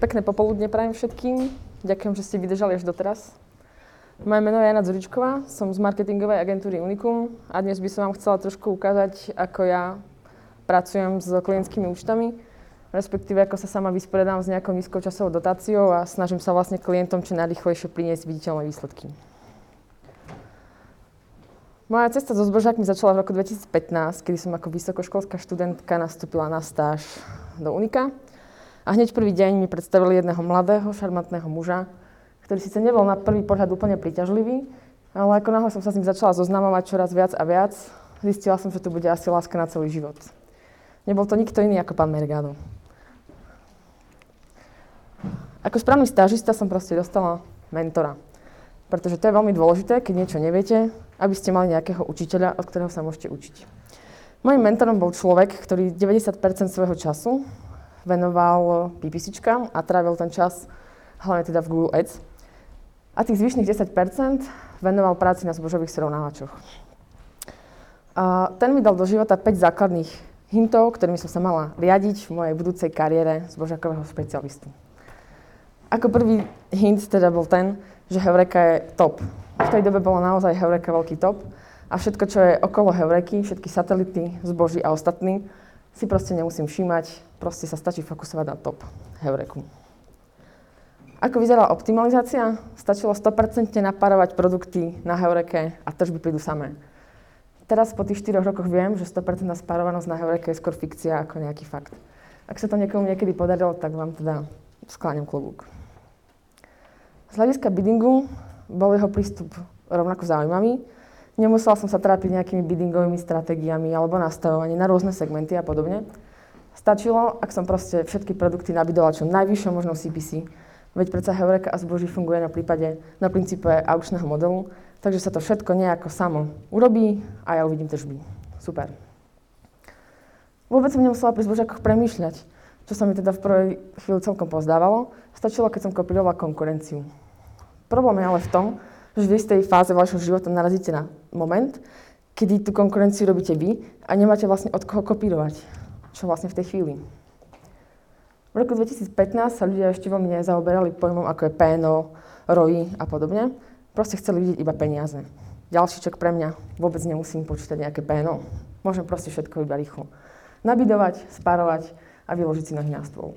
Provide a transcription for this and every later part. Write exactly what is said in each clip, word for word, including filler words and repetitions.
Pekné popoludne prajem všetkým. Ďakujem, že ste vydržali až doteraz. Moje meno je Jana Dzuričková, som z marketingovej agentúry Unicum a dnes by som vám chcela trošku ukázať, ako ja pracujem s klientskými účtami, respektíve ako sa sama vysporiadam s nejakou nízkou časovou dotáciou a snažím sa vlastne klientom čo najrýchlejšie priniesť viditeľné výsledky. Moja cesta so zbožákmi začala v roku dvetisícpätnásť, kedy som ako vysokoškolská študentka nastúpila na stáž do Unika. A hneď prvý deň mi predstavili jedného mladého, šarmantného muža, ktorý síce nebol na prvý pohľad úplne príťažlivý, ale ako náhle som sa s ním začala zoznamovať čoraz viac a viac, zistila som, že to bude asi láska na celý život. Nebol to nikto iný ako pán Mergado. Ako správny stážista som proste dostala mentora. Pretože to je veľmi dôležité, keď niečo neviete, aby ste mali nejakého učiteľa, od ktorého sa môžete učiť. Mojím mentorom bol človek, ktorý deväťdesiat percent svojho času venoval PPCčkám a trávil ten čas hlavne teda v Google Ads. A tých zvyšných desať percent venoval práci na zbožových srovnávačoch. A ten mi dal do života päť základných hintov, ktorými som sa mala riadiť v mojej budúcej kariére zbožákového špecialistu. Ako prvý hint teda bol ten, že Heureka je top. V tej dobe bola naozaj Heureka veľký top a všetko, čo je okolo Heureky, všetky satelity, zboží a ostatní, si proste nemusím všímať, proste sa stačí fokusovať na top Heureku. Ako vyzerala optimalizácia? Stačilo sto percent napárovať produkty na Heureke a tržby prídu samé. Teraz po tých štyroch rokoch viem, že sto percent spárovanosť na Heureke je skôr fikcia ako nejaký fakt. Ak sa to niekomu niekedy podarilo, tak vám teda skláňam klobúk. Z hľadiska biddingu bol jeho prístup rovnako zaujímavý. Nemusela som sa trápiť nejakými biddingovými stratégiami alebo nastavovaním na rôzne segmenty a podobne. Stačilo, ak som proste všetky produkty nabidovala čo najvyššou možnou C P C, veď predsa Heureka a zboží funguje na prípade, na princípe aukčného modelu, takže sa to všetko nejako samo urobí a ja uvidím tržby. Super. Vôbec som nemusela pri zbožákoch premýšľať, čo sa mi teda v prvej chvíli celkom pozdávalo. Stačilo, keď som kopírovala konkurenciu. Problém je ale v tom, že v istej fáze vašho života narazíte na moment, kedy tú konkurenciu robíte vy a nemáte vlastne od koho kopírovať. Čo vlastne v tej chvíli. V roku dvetisícpätnásť sa ľudia ešte veľmi nezaoberali pojmom ako je P N O, R O I a podobne. Proste chceli vidieť iba peniaze. Ďalší ček pre mňa. Vôbec nemusím počítať nejaké P N O. Môžem proste všetko iba rýchlo nabidovať, spárovať a vyložiť si nohy na stôl.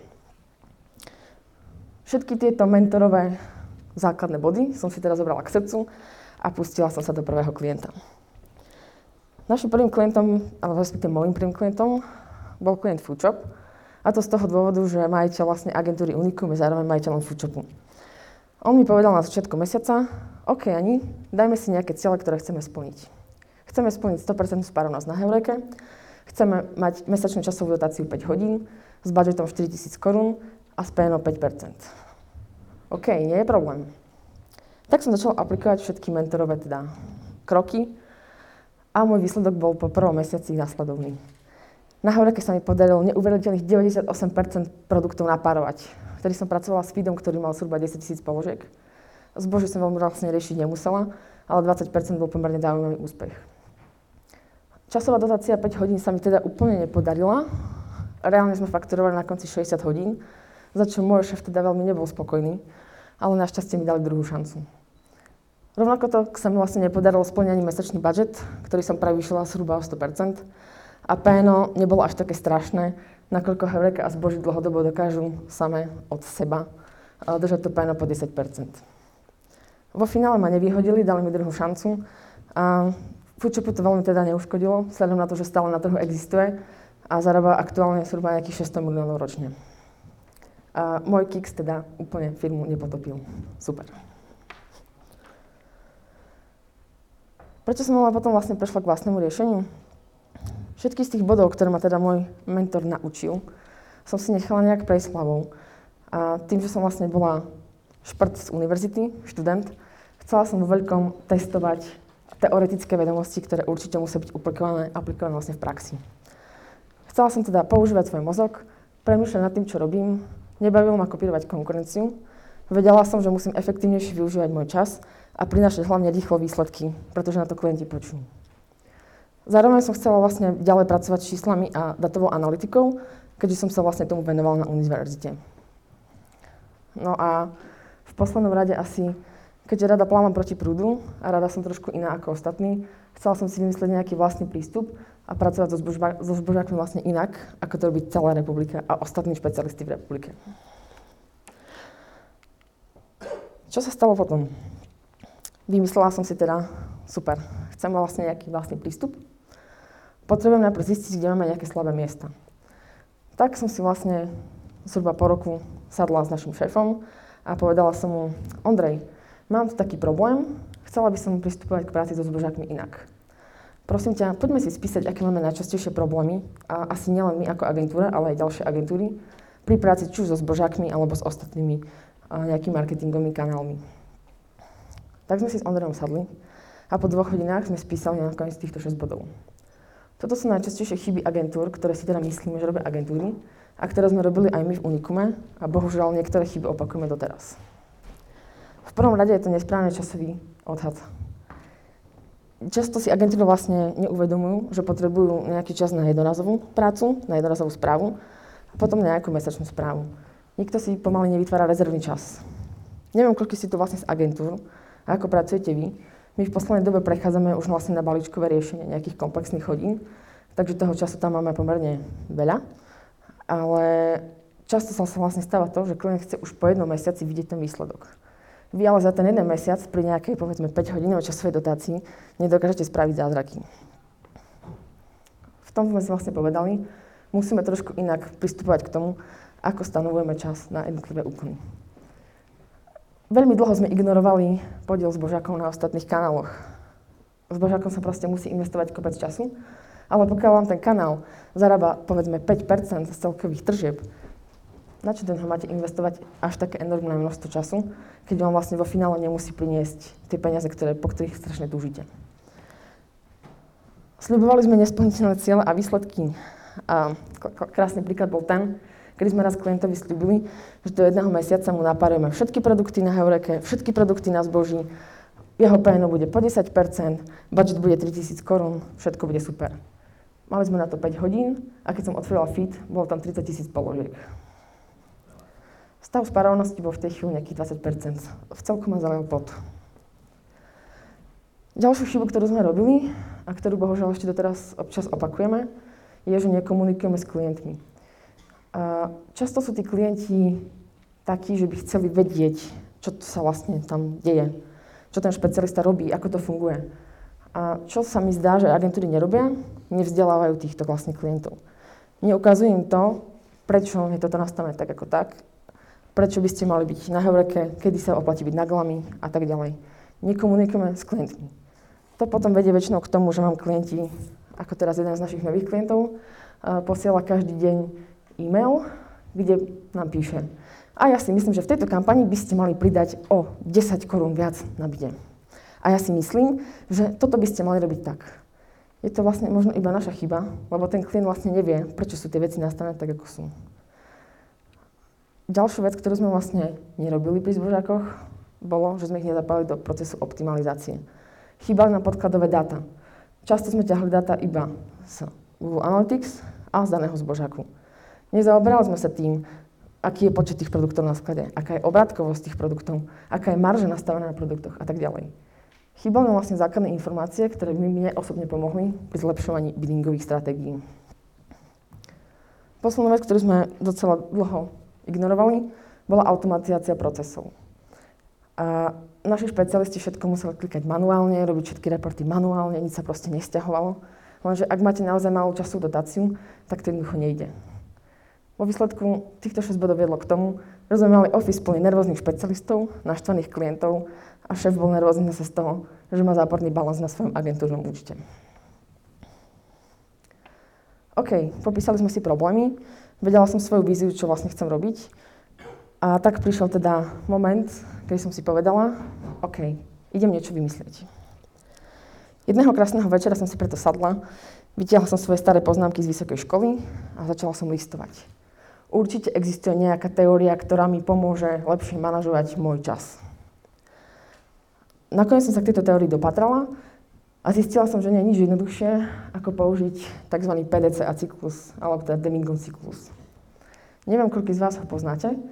Všetky tieto mentorové základné body som si teraz zobrala k srdcu a pustila som sa do prvého klienta. Našim prvým klientom, alebo respektíve môjim prvým klientom, bol klient Foodshop. A to z toho dôvodu, že majiteľ vlastne agentúry Unicum je zároveň majiteľom Foodshopu. On mi povedal na začiatku mesiaca, OK, Ani, dajme si nejaké ciele, ktoré chceme splniť. Chceme splniť sto percent spárovanosť na Heureke, chceme mať mesačnú časovú dotáciu päť hodín s budžetom štyritisíc korún a s P N O päť percent. OK, nie je problém. Tak som začala aplikovať všetky mentorové teda kroky a môj výsledok bol po prvom mesiaci nasledovný. Na Heureke sa mi podarilo neuveriteľných deväťdesiatosem percent produktov napárovať. Vtedy som pracovala s feedom, ktorý mal zhruba desaťtisíc položiek. Zbožie som veľmi vlastne riešiť nemusela, ale dvadsať percent bol pomerne zaujímavý úspech. Časová dotácia päť hodín sa mi teda úplne nepodarila. Reálne sme fakturovali na konci šesťdesiat hodín, za čo môj šéf teda veľmi nebol spokojný, ale našťastie mi dali druhú šancu. Rovnako to sa mi vlastne nepodarilo splniť ani mesačný budžet, ktorý som prevýšila zhruba o sto percent. A P N O nebolo až také strašné, nakoľko Heureka a zboží dlhodobo dokážu same od seba držať to P N O po desať percent. Vo finále ma nevyhodili, dali mi druhú šancu a Foodshopu to veľmi teda neuškodilo, vzhľadom na to, že stále na trhu existuje a zarába aktuálne zhruba nejakých šesťsto miliónov ročne. A môj kiks teda úplne firmu nepotopil. Super. Prečo som ale potom vlastne prešla k vlastnému riešeniu? Všetky z tých bodov, ktoré ma teda môj mentor naučil, som si nechala nejak prejsť hlavou. A tým, že som vlastne bola šprt z univerzity, študent, chcela som vo veľkom testovať teoretické vedomosti, ktoré určite musia byť aplikované, aplikované vlastne v praxi. Chcela som teda používať svoj mozog, premýšľať nad tým, čo robím, nebavilo ma kopírovať konkurenciu, vedela som, že musím efektívnejšie využívať môj čas a prinášať hlavne rýchlo výsledky, pretože na to klienti počujú. Zároveň som chcela vlastne ďalej pracovať s číslami a datovou analytikou, keďže som sa vlastne tomu venovala na univerzite. No a v poslednom rade asi, keďže rada plávam proti prúdu a rada som trošku iná ako ostatní, chcela som si vymyslieť nejaký vlastný prístup a pracovať so, zbožba, so zbožákmi vlastne inak, ako to robí celá republika a ostatní špecialisti v republike. Čo sa stalo potom? Vymyslela som si teda, super, chcem vlastne nejaký vlastný prístup. Potrebujem najprv zistiť, kde máme nejaké slabé miesta. Tak som si vlastne zhruba po roku sadla s našim šéfom a povedala som mu, Ondrej, mám tu taký problém, chcela by som pristupovať k práci so zbožákmi inak. Prosím ťa, poďme si spísať, aké máme najčastejšie problémy, a asi nielen my ako agentúra, ale aj ďalšie agentúry, pri práci či už so zbožákmi alebo s ostatnými nejakými marketingovými kanálmi. Tak sme si s Ondrejom sadli a po dvoch hodinách sme spísali nakoniec týchto šesť bodov. Toto sú najčastejšie chyby agentúr, ktoré si teda myslíme, že robia agentúry a ktoré sme robili aj my v Unikume a bohužiaľ niektoré chyby opakujeme doteraz. V prvom rade je to nesprávny časový odhad. Často si agentúry vlastne neuvedomujú, že potrebujú nejaký čas na jednorazovú prácu, na jednorazovú správu a potom nejakú mesačnú správu. Nikto si pomaly nevytvára rezervný čas. Neviem, koľko si tu vlastne z agentúr a ako pracujete vy. My v poslednej dobe prechádzame už vlastne na balíčkové riešenie nejakých komplexných hodín, takže toho času tam máme pomerne veľa. Ale často sa vlastne stáva to, že klient chce už po jednom mesiaci vidieť ten výsledok. Vy ale za ten jeden mesiac pri nejakej, povedzme, päťhodinovej časovej dotácii nedokážete spraviť zázraky. V tom sme si vlastne povedali, musíme trošku inak pristupovať k tomu, ako stanovujeme čas na jednotlivé úkony. Veľmi dlho sme ignorovali podiel zbožákov na ostatných kanáloch. Zbožákom sa proste musí investovať kopec času, ale pokiaľ vám ten kanál zarába, povedzme, päť percent z celkových tržieb, na čo do neho máte investovať až také enormné množstvo času, keď vám vlastne vo finále nemusí priniesť tie peniaze, ktoré, po ktorých strašne túžite. Sľubovali sme nesplniteľné ciele a výsledky. A krásny príklad bol ten, kedy sme raz klientovi sľubili, že do jedného mesiaca mu napárujeme všetky produkty na Heureke, všetky produkty na zboží, jeho pé en ó bude po desať percent, budget bude tritisíc korún, všetko bude super. Mali sme na to päť hodín a keď som otvorila feed, bolo tam tridsaťtisíc položiek. Stav spárovanosti bol v tej chvíli nejakých dvadsať percent. V celku ma zalial pot. Ďalšiu chybu, ktorú sme robili a ktorú bohužiaľ ešte doteraz občas opakujeme, je, že nekomunikujeme s klientmi. A často sú tí klienti takí, že by chceli vedieť, čo sa vlastne tam deje, čo ten špecialista robí, ako to funguje. A čo sa mi zdá, že agentúry nerobia, nevzdelávajú týchto vlastne klientov. Neukazujú im to, prečo je toto nastavené tak ako tak, prečo by ste mali byť na Heureke, kedy sa oplatí byť na Glami a tak ďalej. Nekomunikujeme s klientmi. To potom vedie väčšinou k tomu, že mám klienti, ako teraz jeden z našich nových klientov, posiela každý deň e-mail, kde nám píše: a ja si myslím, že v tejto kampani by ste mali pridať o desať korún viac na bide. A ja si myslím, že toto by ste mali robiť tak. Je to vlastne možno iba naša chyba, lebo ten klient vlastne nevie, prečo sú tie veci nastavené tak, ako sú. Ďalšiu vec, ktorú sme vlastne nerobili pri zbožákoch, bolo, že sme ich nezapali do procesu optimalizácie. Chýbali nám podkladové dáta. Často sme ťahli dáta iba z Google Analytics a z daného zbožáku. Nezaoberali sme sa tým, aký je počet tých produktov na sklade, aká je obrátkovosť tých produktov, aká je marža nastavená na produktoch a tak ďalej. Chýbali nám vlastne základné informácie, ktoré by mne osobne pomohli pri zlepšovaní biddingových stratégií. Posledná vec, ktorú sme docela dlho ignorovali, bola automatizácia procesov. A naši špecialisti všetko museli klikať manuálne, robiť všetky reporty manuálne, nič sa proste nesťahovalo. Lenže ak máte naozaj malú časovú dotáciu, tak to jednoducho nejde. Vo výsledku týchto šesť bodov viedlo k tomu, že sme mali office plný nervóznych špecialistov, naštvaných klientov a šéf bol nervózny zase z toho, že má záporný balans na svojom agentúrnom účte. OK, popísali sme si problémy, vedela som svoju víziu, čo vlastne chcem robiť. A tak prišiel teda moment, keď som si povedala, OK, idem niečo vymyslieť. Jedného krásneho večera som si preto sadla, vytiahla som svoje staré poznámky z vysokej školy a začala som listovať. Určite existuje nejaká teória, ktorá mi pomôže lepšie manažovať môj čas. Nakoniec som sa k tejto teórii dopatrala a zistila som, že nie je nič jednoduchšie, ako použiť tzv. pé dé cé á cyklus, alebo teda Demingov cyklus. Neviem, koľko z vás ho poznáte,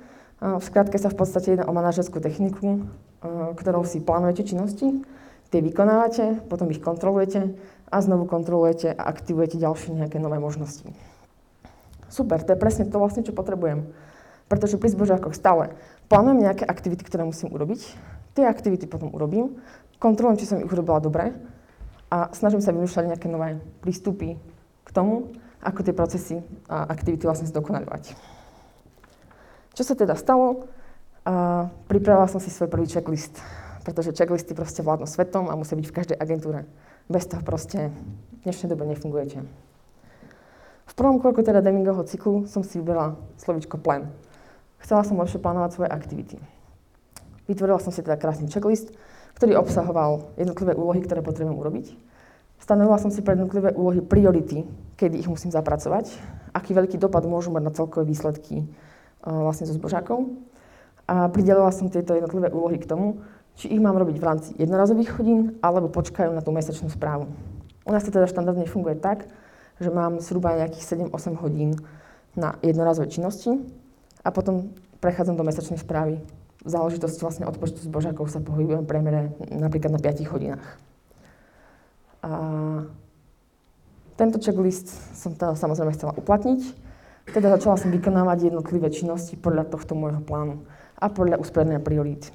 V skratke sa v podstate jedná o manažerskú techniku, ktorou si plánujete činnosti, tie vykonávate, potom ich kontrolujete a znovu kontrolujete a aktivujete ďalšie nejaké nové možnosti. Super, to je presne to vlastne, čo potrebujem. Pretože pri zbožákoch stále plánujem nejaké aktivity, ktoré musím urobiť, tie aktivity potom urobím, kontrolujem, či som ich urobila dobre a snažím sa vymýšľať nejaké nové prístupy k tomu, ako tie procesy a aktivity vlastne zdokonaľovať. Čo sa teda stalo? A pripravila som si svoj prvý checklist, pretože checklisty proste vládnu svetom a musia byť v každej agentúre. Bez toho proste v dnešnej dobe nefungujete. V prvom kroku teda Demingovho cyklu som si vybrala slovíčko plan. Chcela som lepšie plánovať svoje aktivity. Vytvorila som si teda krásny checklist, ktorý obsahoval jednotlivé úlohy, ktoré potrebujem urobiť. Stanovila som si pre jednotlivé úlohy priority, kedy ich musím zapracovať, aký veľký dopad môžu mať na celkové výsledky vlastne so zbožákov. A pridelila som tieto jednotlivé úlohy k tomu, či ich mám robiť v rámci jednorazových hodín, alebo počkajú na tú mesačnú správu. U nás to teda štandardne funguje tak, že mám zhruba nejakých sedem osem hodín na jednorazové činnosti a potom prechádzam do mesačnej správy. V záležitosti vlastne od počtu zbožákov sa pohybujem v priemere napríklad na piatich hodinách. A tento checklist som teda samozrejme chcela uplatniť. Teda začala som vykonávať jednotlivé činnosti podľa tohto môjho plánu a podľa usporiadania priorít.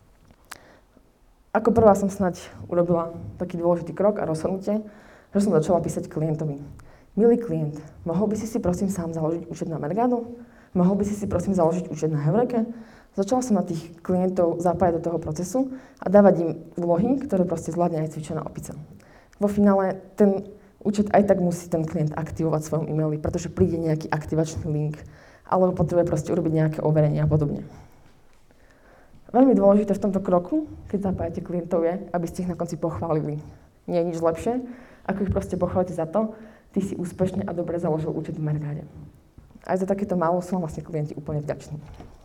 Ako prvá som snáď urobila taký dôležitý krok a rozhodnutie, že som začala písať klientovi. Milý klient, mohol by si si prosím sám založiť účet na Mercado? Mohol by si si prosím založiť účet na Heureke? Začala som na tých klientov zapájať do toho procesu a dávať im úlohy, ktoré proste zvládne aj cvičená opica. Vo finále ten účet aj tak musí ten klient aktivovať v svojom e-maili, pretože príde nejaký aktivačný link alebo potrebuje proste urobiť nejaké overenie a podobne. Veľmi dôležité v tomto kroku, keď zapájate klientov, je, aby ste ich na konci pochválili. Nie je nič lepšie, ako ich proste pochválite za to, ty si úspešne a dobre založil účet v Mercade. Aj za takéto málo sú vlastne klienti úplne vďační.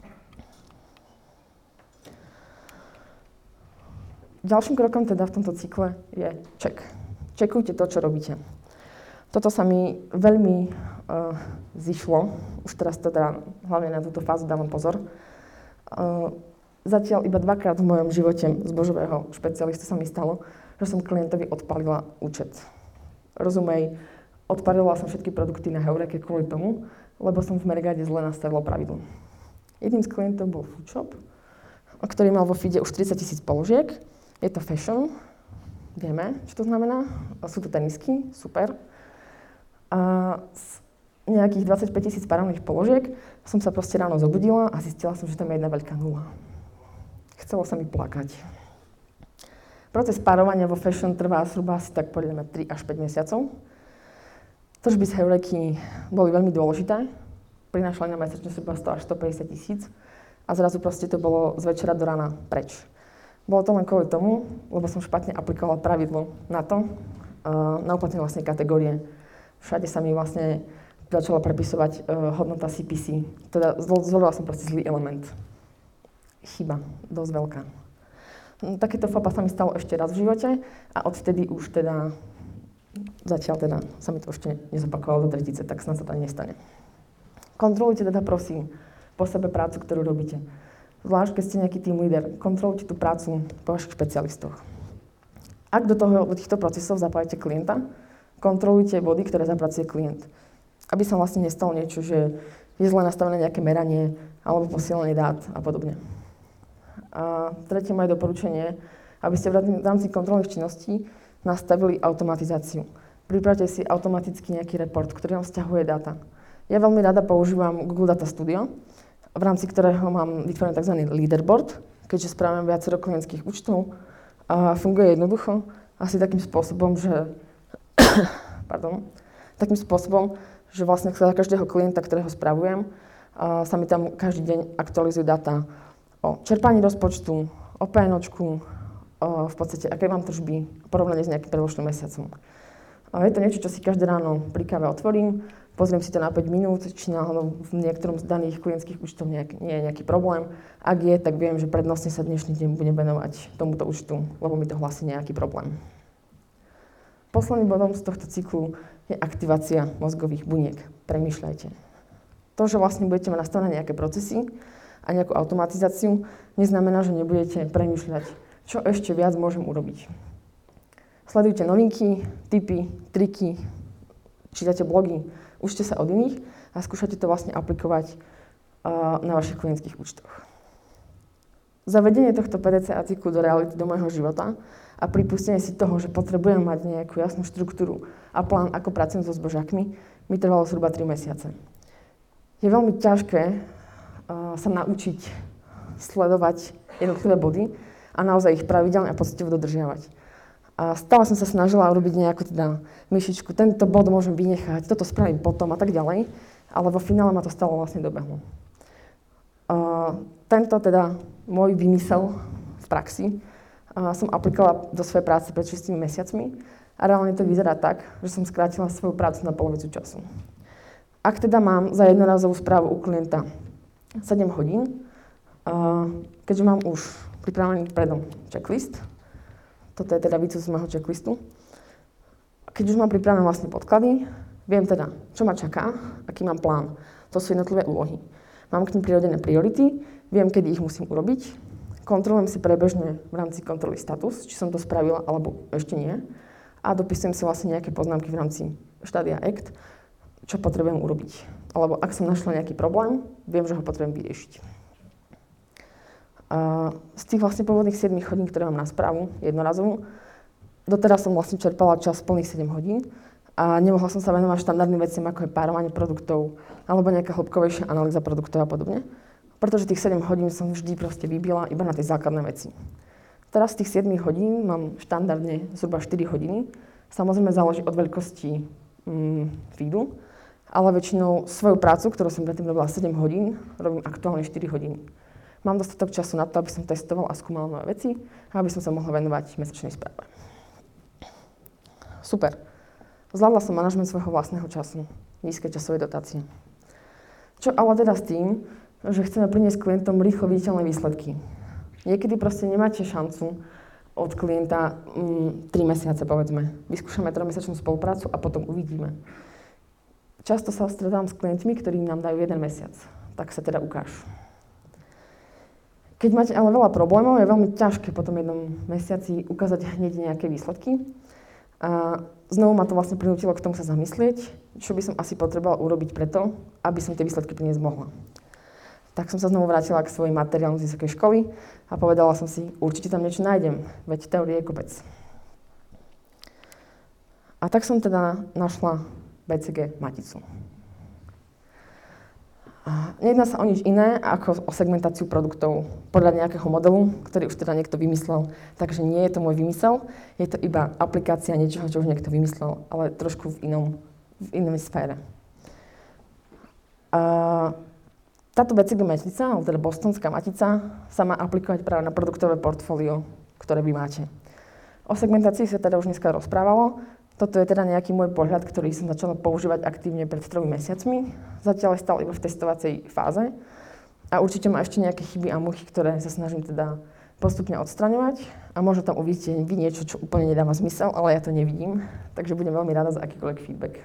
Ďalším krokom teda v tomto cykle je check. Čekujte to, čo robíte. Toto sa mi veľmi uh, zišlo, už teraz teda hlavne na túto fázu dávam pozor. Uh, zatiaľ iba dvakrát v mojom živote zbožového špecialistu sa mi stalo, že som klientovi odpálila účet. Rozumej, odpálila som všetky produkty na Heureke kvôli tomu, lebo som v Mercade zle nastavila pravidlo. Jedným z klientov bol Foodshop, ktorý mal vo feede už tridsať tisíc položiek. Je to fashion. Vieme, čo to znamená. Sú to tenisky, super. A z nejakých dvadsaťpäť tisíc parovných položiek som sa proste ráno zobudila a zistila som, že tam je jedna veľká nula. Chcelo sa mi plakať. Proces párovania vo fashion trvá zhruba asi tak podľa mňa tri až päť mesiacov. Tržby z Heureky boli veľmi dôležité. Prinášali na mesačne zhruba sto až stopäťdesiat tisíc a zrazu proste to bolo z večera do rána preč. Bolo to len kvôli tomu, lebo som špatne aplikovala pravidlo na to, uh, na uplatnenie vlastnej kategórie. Všade sa mi vlastne začala prepisovať uh, hodnota C P C. Teda zvolila som proste zlý element. Chyba, dosť veľká. No, takéto fopa sa mi stalo ešte raz v živote a odvtedy už teda, zatiaľ teda sa mi to ešte nezopakovalo do tretice, tak snad sa to ani nestane. Kontrolujte teda prosím po sebe prácu, ktorú robíte. Zvlášť, keď ste nejaký team leader, kontrolujte tú prácu po vašich špecialistoch. Ak do, toho, do týchto procesov zapájate klienta, kontrolujte body, ktoré zapracuje klient. Aby sa vlastne nestalo niečo, že je zle nastavené nejaké meranie alebo posielanie dát a podobne. A tretie moje doporučenie, aby ste v rámci kontrolných činností nastavili automatizáciu. Pripravte si automaticky nejaký report, ktorý vám vzťahuje dáta. Ja veľmi rada používam Google Data Studio, v rámci ktorého mám vytvorený tzv. Leaderboard, keďže správame viacero klientských účtov a funguje jednoducho, asi takým spôsobom, že pardon, takým spôsobom, že vlastne za každého klienta, ktorého spravujem, sa mi tam každý deň aktualizujú dáta o čerpaní rozpočtu, o PNOčku, v podstate aké mám tržby, porovnanie s nejakým predložným mesiacom. Je to niečo, čo si každé ráno pri káve otvorím, pozriem si to na päť minút, či náhodou v niektorom z daných klientských účtov nejak, nie je nejaký problém. Ak je, tak viem, že prednostne sa dnešný deň budem venovať tomuto účtu, lebo mi to hlási nejaký problém. Posledným bodom z tohto cyklu je aktivácia mozgových buniek. Premýšľajte. To, že vlastne budete mať nastavené nejaké procesy a nejakú automatizáciu, neznamená, že nebudete premýšľať, čo ešte viac môžem urobiť. Sledujte novinky, tipy, triky, čítate blogy, učte sa od iných a skúšajte to vlastne aplikovať uh, na vašich klientských účtoch. Zavedenie tohto pé dé cé á cyklu do reality, do môjho života a pripustenie si toho, že potrebujem mať nejakú jasnú štruktúru a plán, ako pracujem so zbožákmi, mi trvalo zhruba tri mesiace. Je veľmi ťažké uh, sa naučiť sledovať jednotlivé body a naozaj ich pravidelne a poctivo dodržiavať. A stále som sa snažila urobiť nejakú teda myšičku, tento bod môžem vynechať, toto spravím potom a tak ďalej, ale vo finále ma to stalo vlastne dobehlo. Uh, tento teda môj vymysel v praxi uh, som aplikovala do svojej práce pred šiestimi mesiacmi a reálne to vyzerá tak, že som skrátila svoju prácu na polovicu času. Ak teda mám za jednorazovú správu u klienta sedem hodín, uh, keďže mám už pripravený predom checklist, toto je teda výcud z môjho checklistu, keď už mám pripravené vlastne podklady, viem teda, čo ma čaká, aký mám plán. To sú jednotlivé úlohy. Mám k nim prirodené priority, viem, kedy ich musím urobiť, kontrolujem si prebežne v rámci kontroly status, či som to spravila alebo ešte nie, a dopisujem si vlastne nejaké poznámky v rámci štádia act, čo potrebujem urobiť. Alebo ak som našla nejaký problém, viem, že ho potrebujem vyriešiť. A z tých vlastne pôvodných sedem hodín, ktoré mám na správu, jednorazovú, doteraz som vlastne čerpala čas plných sedem hodín a nemohla som sa venovať štandardným veciam, ako je párovanie produktov alebo nejaká hĺbkovejšia analýza produktov a podobne. Pretože tých sedem hodín som vždy proste vybila iba na tie základné veci. Teraz z tých sedem hodín mám štandardne zhruba štyri hodiny. Samozrejme záleží od veľkosti mm, feedu, ale väčšinou svoju prácu, ktorú som predtým robila sedem hodín, robím aktuálne štyri hodiny. Mám dostatok času na to, aby som testoval a skúmal nové veci a aby som sa mohla venovať mesačnej správe. Super. Zvládla som manažment svojho vlastného času, nízkej časovej dotácie. Čo ale teda s tým, že chceme priniesť klientom rýchlo viditeľné výsledky. Niekedy proste nemáte šancu od klienta mm, tri mesiace, povedzme. Vyskúšame trojmesačnú spoluprácu a potom uvidíme. Často sa stretám s klientmi, ktorí nám dajú jeden mesiac. Tak sa teda ukáž. Keď máte ale veľa problémov, je veľmi ťažké po tom jednom mesiaci ukázať hneď nejaké výsledky. A znovu ma to vlastne prinútilo k tomu sa zamyslieť, čo by som asi potrebovala urobiť preto, aby som tie výsledky priniesť mohla. Tak som sa znovu vrátila k svojim materiálom z vysokej školy a povedala som si, určite tam niečo nájdem, veď teórie je kopec. A tak som teda našla bé cé gé maticu. A nejedná sa o nič iné ako o segmentáciu produktov podľa nejakého modelu, ktorý už teda niekto vymyslel. Takže nie je to môj vymysel, je to iba aplikácia niečoho, čo už niekto vymyslel, ale trošku v inom, v inej sfére. A táto bé cé gé matica, alebo teda bostonská matica, sa má aplikovať práve na produktové portfólio, ktoré vy máte. O segmentácii sa teda už dneska rozprávalo. Toto je teda nejaký môj pohľad, ktorý som začala používať aktívne pred tromi mesiacmi. Zatiaľ je stále iba v testovacej fáze. A určite má ešte nejaké chyby a muchy, ktoré sa snažím teda postupne odstraňovať. A možno tam uvidíte vy niečo, čo úplne nedáva zmysel, ale ja to nevidím. Takže budem veľmi rada za akýkoľvek feedback.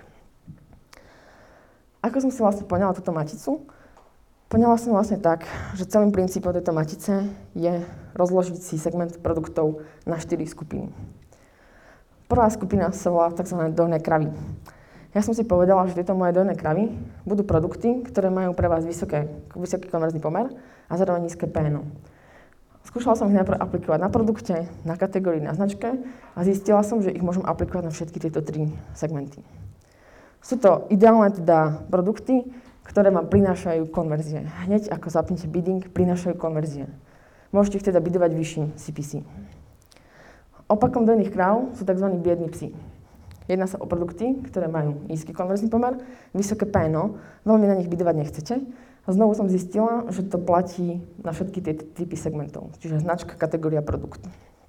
Ako som si vlastne poňala túto maticu? Poňala som vlastne tak, že celým princípom tejto matice je rozložiť si segment produktov na štyri skupiny. Prvá skupina sa volá tzv. Dojné kravy. Ja som si povedala, že tieto moje dojné kravy budú produkty, ktoré majú pre vás vysoké, vysoký konverzný pomer a zároveň nízke pé en ó. Skúšala som ich najprv aplikovať na produkte, na kategórii, na značke a zistila som, že ich môžem aplikovať na všetky tieto tri segmenty. Sú to ideálne teda produkty, ktoré vám prinášajú konverzie. Hneď ako zapnete bidding, prinášajú konverzie. Môžete ich teda bidovať vyšším C P C. Opakom dojných kráv sú tzv. Biední psi. Jedná sa o produkty, ktoré majú nízky konverzný pomer, vysoké pé en ó, veľmi na nich bidovať nechcete. A znovu som zistila, že to platí na všetky tie typy segmentov, čiže značka, kategória, produkt.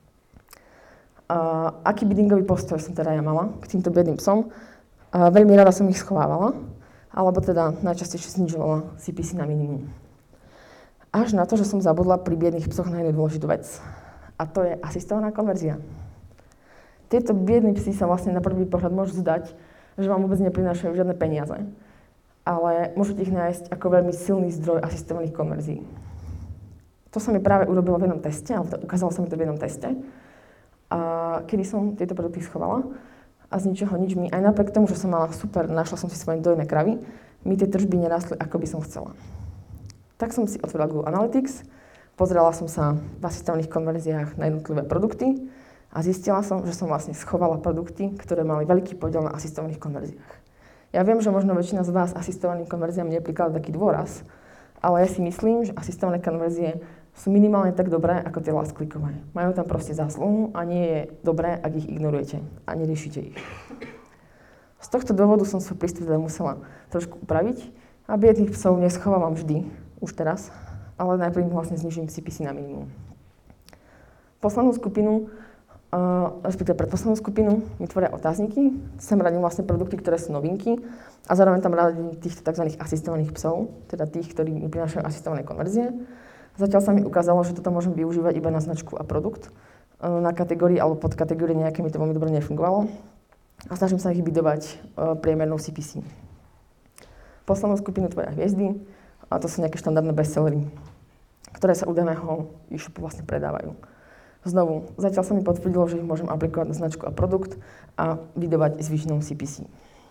A aký biddingový postoj som teda ja mala k týmto biedným psom? A veľmi rada som ich schovávala, alebo teda najčastejšie znižovala C P C na minimum. Až na to, že som zabudla pri biedných psoch na jednu dôležitú vec. A to je asistovaná konverzia. Tieto biední psi sa vlastne na prvý pohľad môžu zdať, že vám vôbec neprinášajú žiadne peniaze. Ale môžete ich nájsť ako veľmi silný zdroj asistovaných konverzií. To sa mi práve urobilo v jednom teste, alebo ukázalo sa mi to v jednom teste, a kedy som tieto produkty schovala a z ničoho nič mi, aj napriek tomu, že som mala super, našla som si svoje dojné kravy, mi tie tržby nerastli, ako by som chcela. Tak som si otvorila Google Analytics, pozrela som sa v asistovaných konverziách na jednotlivé produkty a zistila som, že som vlastne schovala produkty, ktoré mali veľký podiel na asistovaných konverziách. Ja viem, že možno väčšina z vás asistovaným konverziám neprikladá taký dôraz, ale ja si myslím, že asistované konverzie sú minimálne tak dobré, ako tie last clickové. Majú tam proste zásluhu a nie je dobré, ak ich ignorujete a neriešite ich. Z tohto dôvodu som svoj prístup teda musela trošku upraviť a biedných psov neschovávam vždy, už teraz, ale najprv vlastne znižím C P C na minimum. Poslednú skupinu, uh, respektíve predposlednú skupinu, mi tvoria otázniky. Sem radím vlastne produkty, ktoré sú novinky a zároveň tam radím týchto tzv. Asistovaných psov, teda tých, ktorí mi prinášajú asistované konverzie. Zatiaľ sa mi ukázalo, že toto môžem využívať iba na značku a produkt. Na kategórii alebo podkategórii nejaké mi to veľmi dobre nefungovalo. A snažím sa ich bydovať priemernou C P C. Poslednú skupinu tvoria hviezdy, a to sú nejaké štandardné bestsellery, ktoré sa u daného e-shopu vlastne predávajú. Znovu, zatiaľ sa mi potvrdilo, že ich môžem aplikovať na značku a produkt a bydovať zvyšnou C P C.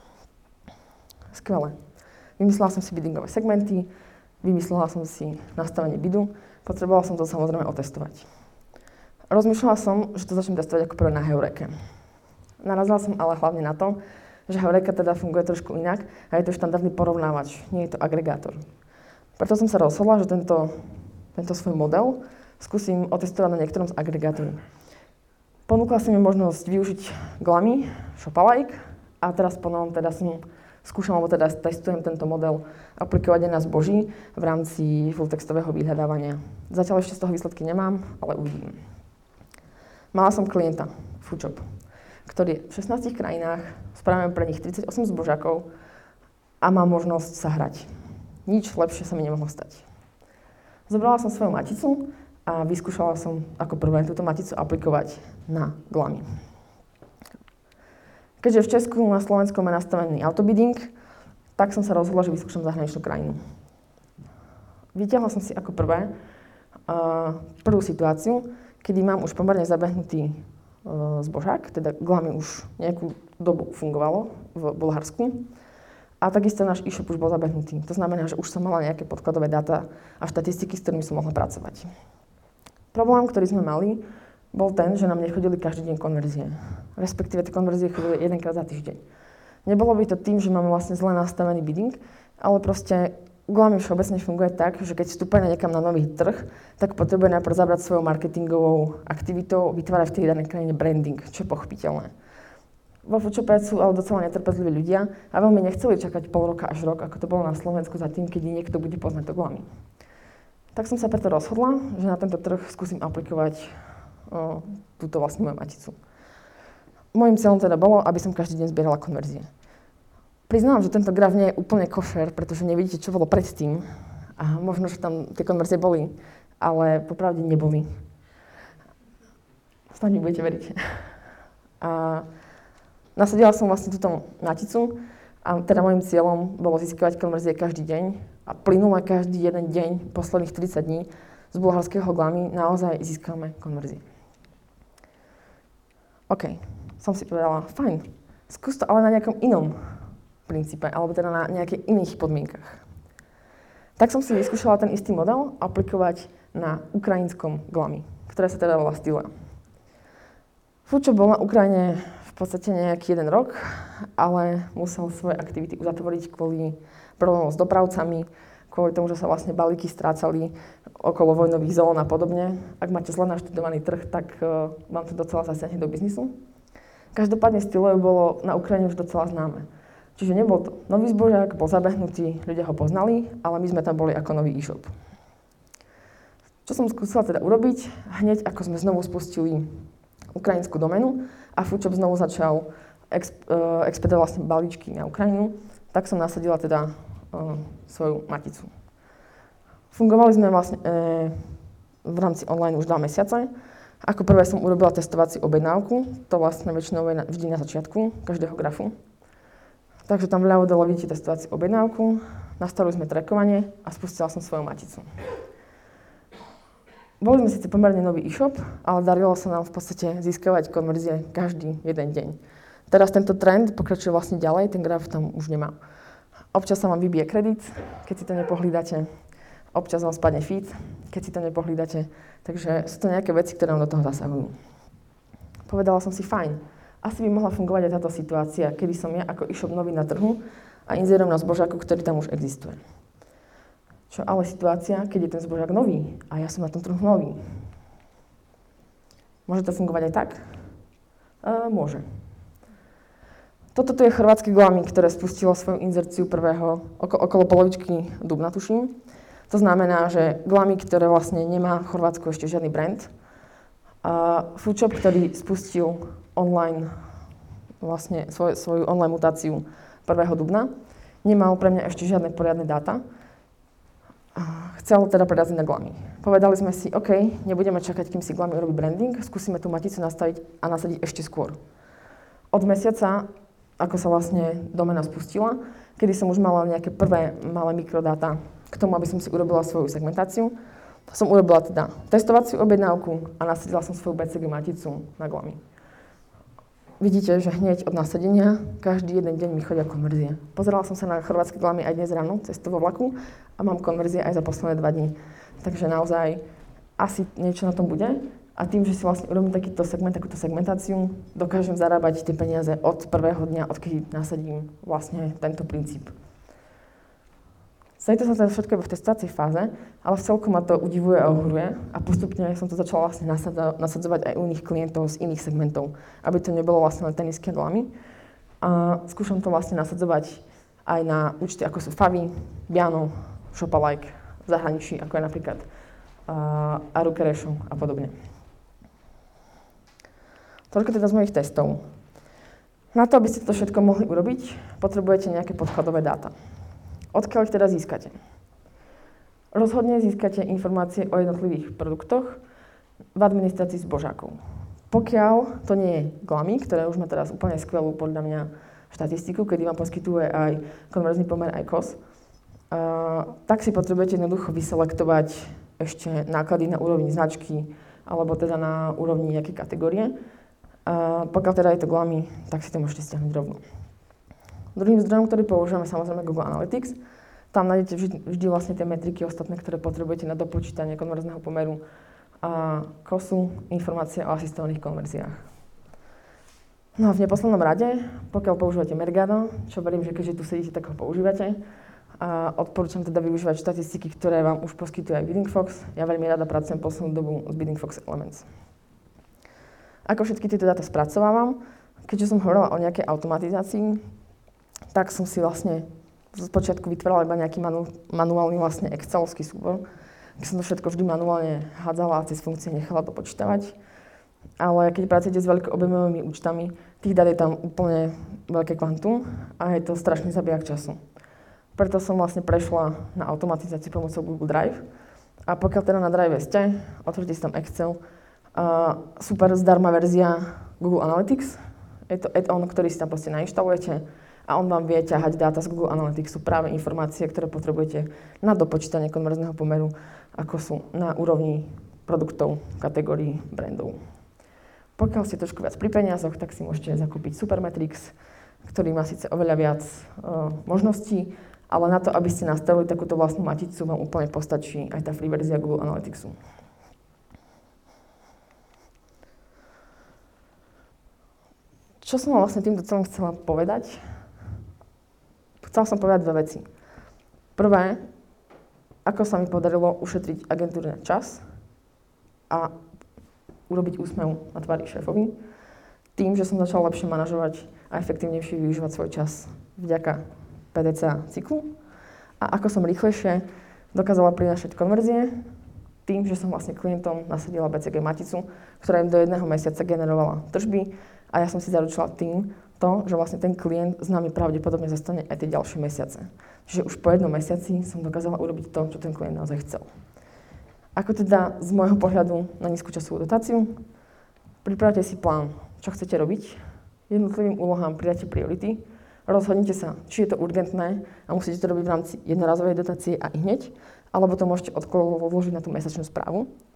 Skvelé. Vymyslela som si biddingové segmenty, vymyslela som si nastavenie bidu, potrebovala som to samozrejme otestovať. Rozmýšľala som, že to začnem testovať ako prvé na Heureke. Narazila som ale hlavne na to, že Heureka teda funguje trošku inak a je to štandardný porovnávač, nie je to agregátor. Preto som sa rozhodla, že tento, tento svoj model skúsim otestovať na niektorom z agregátorov. Ponúkla som mi možnosť využiť Glamy, Shopalike a teraz ponovom teda som skúšam, alebo teda testujem tento model aplikovať aj na zboží v rámci fulltextového vyhľadávania. Zatiaľ ešte z toho výsledky nemám, ale uvidím. Mala som klienta, Foodshop, ktorý je v šestnástich krajinách, spravím pre nich tridsaťosem zbožákov a má možnosť sa hrať. Nič lepšie sa mi nemohlo stať. Zobrala som svoju maticu a vyskúšala som ako prvé túto maticu aplikovať na Glamy. Keďže v Česku na Slovensku má nastavený autobidding, tak som sa rozhodla, že vyskúšam zahraničnú krajinu. Vytiahla som si ako prvé uh, prvú situáciu, kedy mám už pomerne zabehnutý uh, zbožák, teda Glamy už nejakú dobu fungovalo v Bulharsku a takisto náš e-shop už bol zabehnutý. To znamená, že už som mala nejaké podkladové dáta a štatistiky, s ktorými som mohla pracovať. Problém, ktorý sme mali, bol ten, že nám nechodili každý deň konverzie. Respektíve tie konverzie chodili jedenkrát za týždeň. Nebolo by to tým, že máme vlastne zle nastavený bidding, ale proste Glamy všeobecne funguje tak, že keď vstúpia niekam na nový trh, tak potrebuje najprv zabrať svojou marketingovou aktivitou, vytvárať v tej danej krajine branding, čo je pochopiteľné. Vo Foodshope sú ale docela netrpezliví ľudia a veľmi nechceli čakať pol roka až rok, ako to bolo na Slovensku za tým, keď niekto bude poznať to Glamy. Tak som sa preto rozhodla, že na tento trh skúsim aplikovať o, túto vlastne moju maticu. Mojím cieľom teda bolo, aby som každý deň zbierala konverzie. Priznám, že tento graf nie je úplne košer, pretože nevidíte, čo bolo predtým. A možno, že tam tie konverzie boli, ale popravde neboli. Snad mi budete veriť. A nasadila som vlastne túto maticu a teda môjim cieľom bolo získavať konverzie každý deň a plynule každý jeden deň, posledných tridsať dní, z bulharského Glamy naozaj získame konverzie. OK. Som si povedala, fajn, skús to ale na nejakom inom princípe, alebo teda na nejakých iných podmienkach. Tak som si vyskúšala ten istý model aplikovať na ukrajinskom Glamy, ktoré sa teda volá Stylia. Foodshop bol na Ukrajine v podstate nejaký jeden rok, ale musel svoje aktivity uzatvoriť kvôli problémom s dopravcami, kvôli tomu, že sa vlastne balíky strácali okolo vojnových zón a podobne. Ak máte zle naštudovaný trh, tak uh, vám to docela zasiahne do biznisu. Každopádne Stylia bolo na Ukrajine už docela známe. Čiže nebol to nový zbožák, bol zabehnutý, ľudia ho poznali, ale my sme tam boli ako nový e-shop. Čo som skúsila teda urobiť, hneď ako sme znovu spustili ukrajinskú doménu a Foodshop znovu začal exp- uh, expedovať vlastne balíčky na Ukrajinu, tak som nasadila teda uh, svoju maticu. Fungovali sme vlastne uh, v rámci online už dva mesiace. Ako prvé som urobila testovaciu objednávku, to vlastne väčšinou je vždy na začiatku každého grafu. Takže tam vľavo dole vidíte testovaciu objednávku, nastavili sme trackovanie a spustila som svoju maticu. Boli sme síce pomerne nový e-shop, ale darilo sa nám v podstate získavať konverzie každý jeden deň. Teraz tento trend pokračuje vlastne ďalej, ten graf tam už nemá. Občas sa vám vybije kredit, keď si to nepohlídate. Občas vám spadne feed, keď si to nepohlídate. Takže sú to nejaké veci, ktoré vám do toho zasahujú. Povedala som si, fajn, asi by mohla fungovať aj táto situácia, kedy som ja ako e-shop nový na trhu a inzerujem na zbožáku, ktorý tam už existuje. Čo ale situácia, keď je ten zbožák nový a ja som na tom trhu nový? Môže to fungovať aj tak? E, môže. Toto tu je chorvátske Glami, ktoré spustilo svoju inzerciu prvého, okolo, okolo polovičky dubna, tuším. To znamená, že Glami, ktoré vlastne nemá v Chorvátsku ešte žiadny brand, a Foodshop, ktorý spustil online, vlastne svoj, svoju online mutáciu prvého dubna, nemal pre mňa ešte žiadne poriadne dáta. A chcel teda preraziť na Glami. Povedali sme si, OK, nebudeme čakať, kým si Glami urobí branding, skúsime tú maticu nastaviť a nasadiť ešte skôr. Od mesiaca, ako sa vlastne domena spustila, kedy som už mala nejaké prvé malé mikrodáta k tomu, aby som si urobila svoju segmentáciu, som urobila teda testovaciu objednávku a nasadila som svoju bé cé gé maticu na Glami. Vidíte, že hneď od nasadenia každý jeden deň mi chodia konverzie. Pozerala som sa na chorvátske Glami aj dnes ráno cez vo vlaku a mám konverzie aj za posledné dva dní. Takže naozaj asi niečo na tom bude. A tým, že si vlastne urobím takýto segment, takúto segmentáciu, dokážem zarábať tie peniaze od prvého dňa, odkedy nasadím vlastne tento princíp. Zajto som teda všetko v testovacej fáze, ale v celku ma to udivuje a ohuruje a postupne som to začala vlastne nasadzovať aj u iných klientov z iných segmentov, aby to nebolo vlastne len tenisky a Glami. A skúšam to vlastne nasadzovať aj na účty, ako sú Favy, Biano, Shopalike, v zahraničí, ako je napríklad uh, Arukeresho a podobne. Toľko teda z mojich testov. Na to, aby ste to všetko mohli urobiť, potrebujete nejaké podkladové dáta. Odkiaľ ich teda získate? Rozhodne získate informácie o jednotlivých produktoch v administrácii zbožákov. Pokiaľ to nie je Glami, ktoré už má teraz úplne skvelú podľa mňa štatistiku, kedy vám poskytuje aj konverzný pomer, aj kos, uh, tak si potrebujete jednoducho vyselektovať ešte náklady na úrovni značky alebo teda na úrovni nejakej kategórie. Uh, pokiaľ teda je to Glami, tak si to môžete stiahnuť rovno. Druhým zdrojom, ktorý používame, samozrejme Google Analytics. Tam nájdete vždy, vždy vlastne tie metriky ostatné, ktoré potrebujete na dopočítanie konverzného pomeru a kosu, informácie o asistovaných konverziách. No a v neposlednom rade, pokiaľ používate Mercado, čo verím, že keďže tu sedíte, tak ho používate, a odporúčam teda využívať štatistiky, ktoré vám už poskytuje aj Bidding Fox. Ja veľmi rada pracujem poslednú dobu s Bidding Fox Elements. Ako všetky tieto dáta spracovávam, keďže som hovorila o nejakej automatizácii, tak som si vlastne z počiatku vytvárala iba nejaký manu, manuálny vlastne excelovský súbor, kde som to všetko vždy manuálne hádzala a cez funkcie nechala to počítavať. Ale keď pracujete s veľkoobjemovými účtami, tých dát je tam úplne veľké kvantum a je to strašný zabijak času. Preto som vlastne prešla na automatizáciu pomocou Google Drive. A pokiaľ teda na Drive ste, otvorite si tam Excel, Uh, super zdarma verzia Google Analytics. Je to add-on, ktorý si tam proste nainštalujete a on vám vie ťahať dáta z Google Analytics. Sú práve informácie, ktoré potrebujete na dopočítanie konverzného pomeru, ako sú na úrovni produktov, kategórií, brandov. Pokiaľ ste trošku viac pri peniazoch, tak si môžete zakúpiť Supermetrics, ktorý má síce oveľa viac uh, možností, ale na to, aby ste nastavili takúto vlastnú maticu, vám úplne postačí aj tá free verzia Google Analyticsu. Čo som vlastne týmto celým chcela povedať? Chcela som povedať dve veci. Prvé, ako sa mi podarilo ušetriť agentúre čas a urobiť úsmev na tvári šéfovi, tým, že som začala lepšie manažovať a efektívnejšie využívať svoj čas vďaka pé dé cé cyklu. A ako som rýchlejšie dokázala prinášať konverzie, tým, že som vlastne klientom nasadila bé cé gé maticu, ktorá im do jedného mesiaca generovala tržby. A ja som si zaručila tým to, že vlastne ten klient s nami pravdepodobne zostane aj tie ďalšie mesiace. Čiže už po jednom mesiaci som dokázala urobiť to, čo ten klient naozaj chcel. Ako teda z môjho pohľadu na nízku časovú dotáciu? Pripravte si plán, čo chcete robiť. Jednotlivým úlohám pridáte priority. Rozhodnite sa, či je to urgentné a musíte to robiť v rámci jednorazovej dotácie a i hneď, alebo to môžete odložiť na tú mesačnú správu.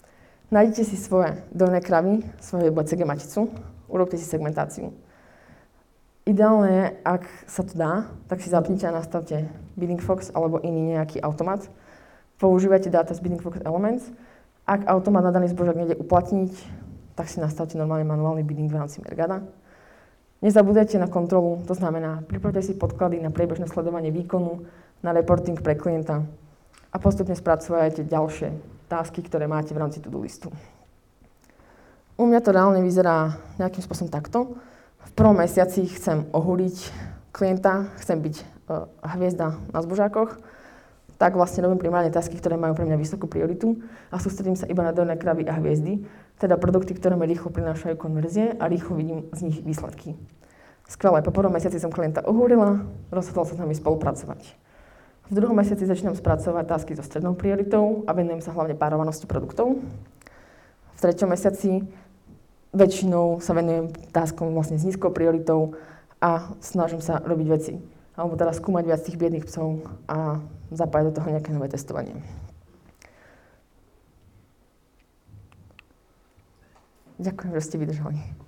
Nájdete si svoje dojné kravy, svoju bé cé gé maticu, urobte si segmentáciu. Ideálne je, ak sa to dá, tak si zapnite a nastavte Biddingfox alebo iný nejaký automat. Používajte dáta z Biddingfox Elements. Ak automat na daný zbožok nejde uplatniť, tak si nastavte normálne manuálny bidding v rámci Mergada. Nezabúdajte na kontrolu, to znamená, pripravte si podklady na priebežné sledovanie výkonu, na reporting pre klienta a postupne spracovajte ďalšie tasky, ktoré máte v rámci to-do listu. U mňa to reálne vyzerá nejakým spôsobom takto. V prvom mesiaci chcem ohúliť klienta, chcem byť uh, hviezda na zbožákoch, tak vlastne robím primárne tasky, ktoré majú pre mňa vysokú prioritu a sústredím sa iba na dojné kravy a hviezdy, teda produkty, ktoré mi rýchlo prinášajú konverzie a rýchlo vidím z nich výsledky. Skvelé, po prvom mesiaci som klienta ohúrila, rozhodol sa s nami spolupracovať. V druhom mesiaci začínam spracovať tasky so strednou prioritou a venujem sa hlavne párovanosti produktov. V treťom mesiaci väčšinou sa venujem taskom vlastne s nízkou prioritou a snažím sa robiť veci. Alebo teda skúmať viac tých biedných psov a zapájať do toho nejaké nové testovanie. Ďakujem, že ste vydržali.